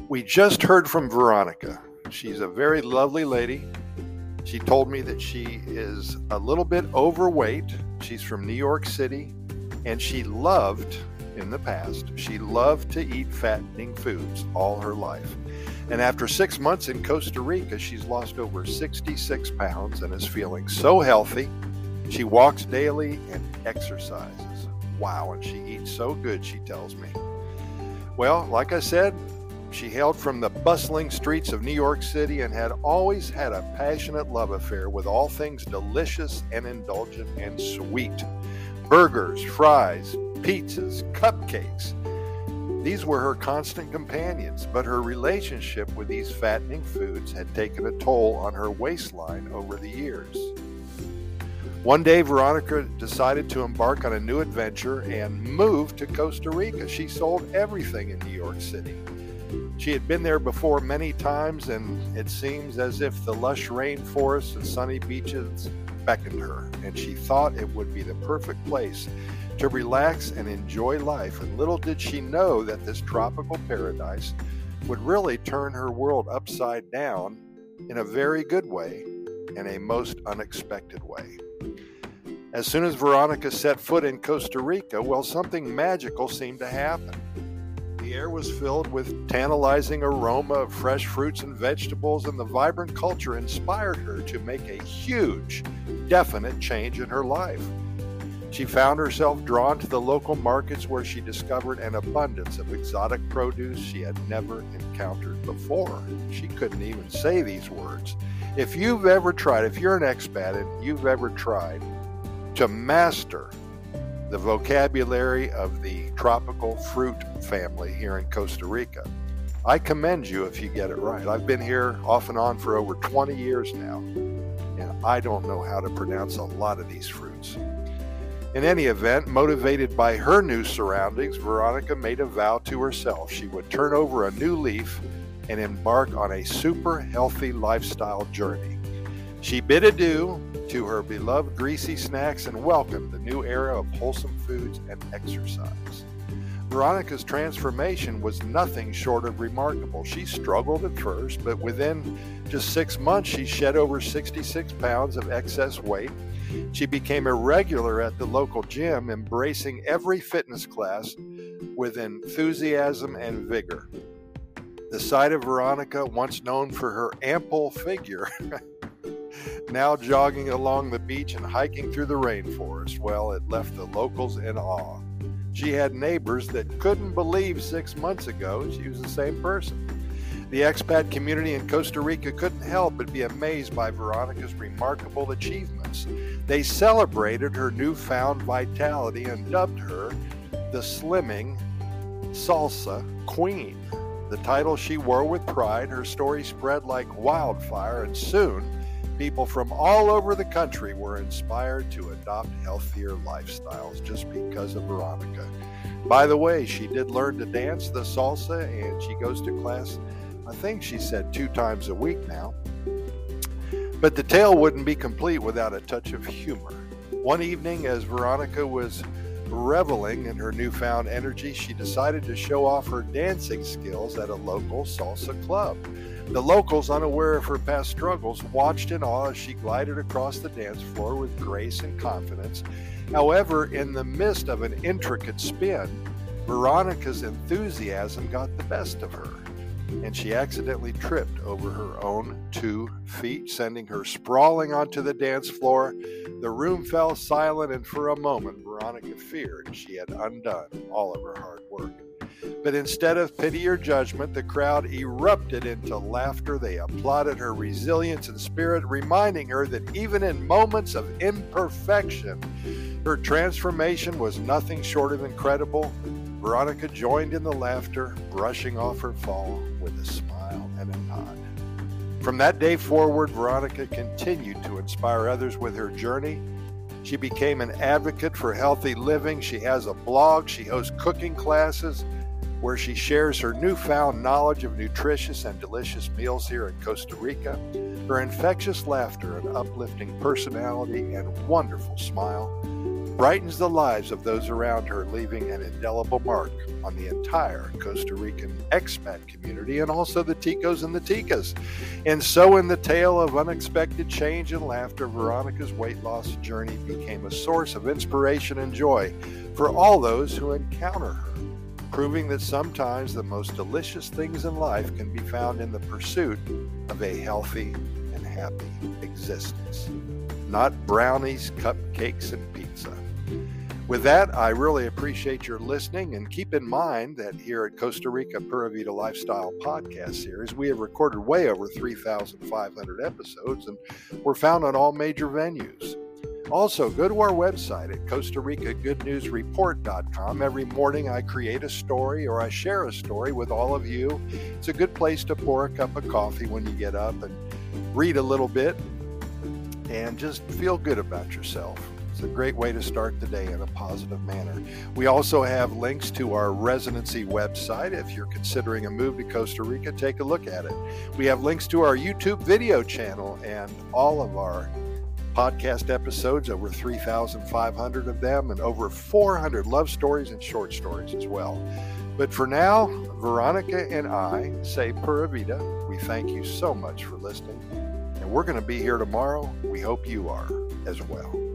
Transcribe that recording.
We just heard from Veronica. She's a very lovely lady. She told me that she is a little bit overweight. She's from New York City, and she loved to eat fattening foods all her life. And after 6 months in Costa Rica, she's lost over 66 pounds and is feeling so healthy. She walks daily and exercises. Wow, and she eats so good, she tells me. Well, like I said, she hailed from the bustling streets of New York City and had always had a passionate love affair with all things delicious and indulgent and sweet. Burgers, fries, pizzas, cupcakes. These were her constant companions, but her relationship with these fattening foods had taken a toll on her waistline over the years. One day, Veronica decided to embark on a new adventure and moved to Costa Rica. She sold everything in New York City. She had been there before many times, and it seems as if the lush rainforests and sunny beaches beckoned her, and she thought it would be the perfect place to relax and enjoy life. And little did she know that this tropical paradise would really turn her world upside down in a very good way, in a most unexpected way. As soon as Veronica set foot in Costa Rica, well, something magical seemed to happen. The air was filled with tantalizing aroma of fresh fruits and vegetables, and the vibrant culture inspired her to make a huge, definite change in her life. She found herself drawn to the local markets where she discovered an abundance of exotic produce she had never encountered before. She couldn't even say these words. If you're an expat and you've ever tried to master the vocabulary of the tropical fruit family here in Costa Rica, I commend you if you get it right. I've been here off and on for over 20 years now, and I don't know how to pronounce a lot of these fruits. In any event, motivated by her new surroundings, Veronica made a vow to herself she would turn over a new leaf and embark on a super healthy lifestyle journey. She bid adieu to her beloved greasy snacks and welcomed the new era of wholesome foods and exercise. Veronica's transformation was nothing short of remarkable. She struggled at first, but within just 6 months, she shed over 66 pounds of excess weight. She became a regular at the local gym, embracing every fitness class with enthusiasm and vigor. The sight of Veronica, once known for her ample figure, now jogging along the beach and hiking through the rainforest, well, it left the locals in awe. She had neighbors that couldn't believe 6 months ago she was the same person. The expat community in Costa Rica couldn't help but be amazed by Veronica's remarkable achievements. They celebrated her newfound vitality and dubbed her the Slimming Salsa Queen. The title she wore with pride. Her story spread like wildfire, and soon people from all over the country were inspired to adopt healthier lifestyles just because of Veronica. By the way, she did learn to dance the salsa, and she goes to class, I think she said 2 times a week now. But the tale wouldn't be complete without a touch of humor. One evening, as Veronica was reveling in her newfound energy, she decided to show off her dancing skills at a local salsa club. The locals, unaware of her past struggles, watched in awe as she glided across the dance floor with grace and confidence. However, in the midst of an intricate spin, Veronica's enthusiasm got the best of her, and she accidentally tripped over her own 2 feet, sending her sprawling onto the dance floor. The room fell silent, and for a moment, Veronica feared she had undone all of her hard work. But instead of pity or judgment, the crowd erupted into laughter. They applauded her resilience and spirit, reminding her that even in moments of imperfection, her transformation was nothing short of incredible. Veronica joined in the laughter, brushing off her fall with a smile and a nod. From that day forward, Veronica continued to inspire others with her journey. She became an advocate for healthy living. She has a blog. She hosts cooking classes where she shares her newfound knowledge of nutritious and delicious meals here in Costa Rica. Her infectious laughter and uplifting personality and wonderful smile brightens the lives of those around her, leaving an indelible mark on the entire Costa Rican expat community and also the Ticos and the Ticas. And so in the tale of unexpected change and laughter, Veronica's weight loss journey became a source of inspiration and joy for all those who encounter her, proving that sometimes the most delicious things in life can be found in the pursuit of a healthy and happy existence, not brownies, cupcakes, and pizza. With that, I really appreciate your listening, and keep in mind that here at Costa Rica Pura Vida Lifestyle Podcast Series, we have recorded way over 3,500 episodes, and we're found on all major venues. Also, go to our website at CostaRicaGoodNewsReport.com. Every morning I create a story or I share a story with all of you. It's a good place to pour a cup of coffee when you get up and read a little bit and just feel good about yourself. It's a great way to start the day in a positive manner. We also have links to our residency website. If you're considering a move to Costa Rica, take a look at it. We have links to our YouTube video channel and all of our podcast episodes, over 3,500 of them, and over 400 love stories and short stories as well. But for now, Veronica and I say Pura Vida. We thank you so much for listening, and we're going to be here tomorrow. We hope you are as well.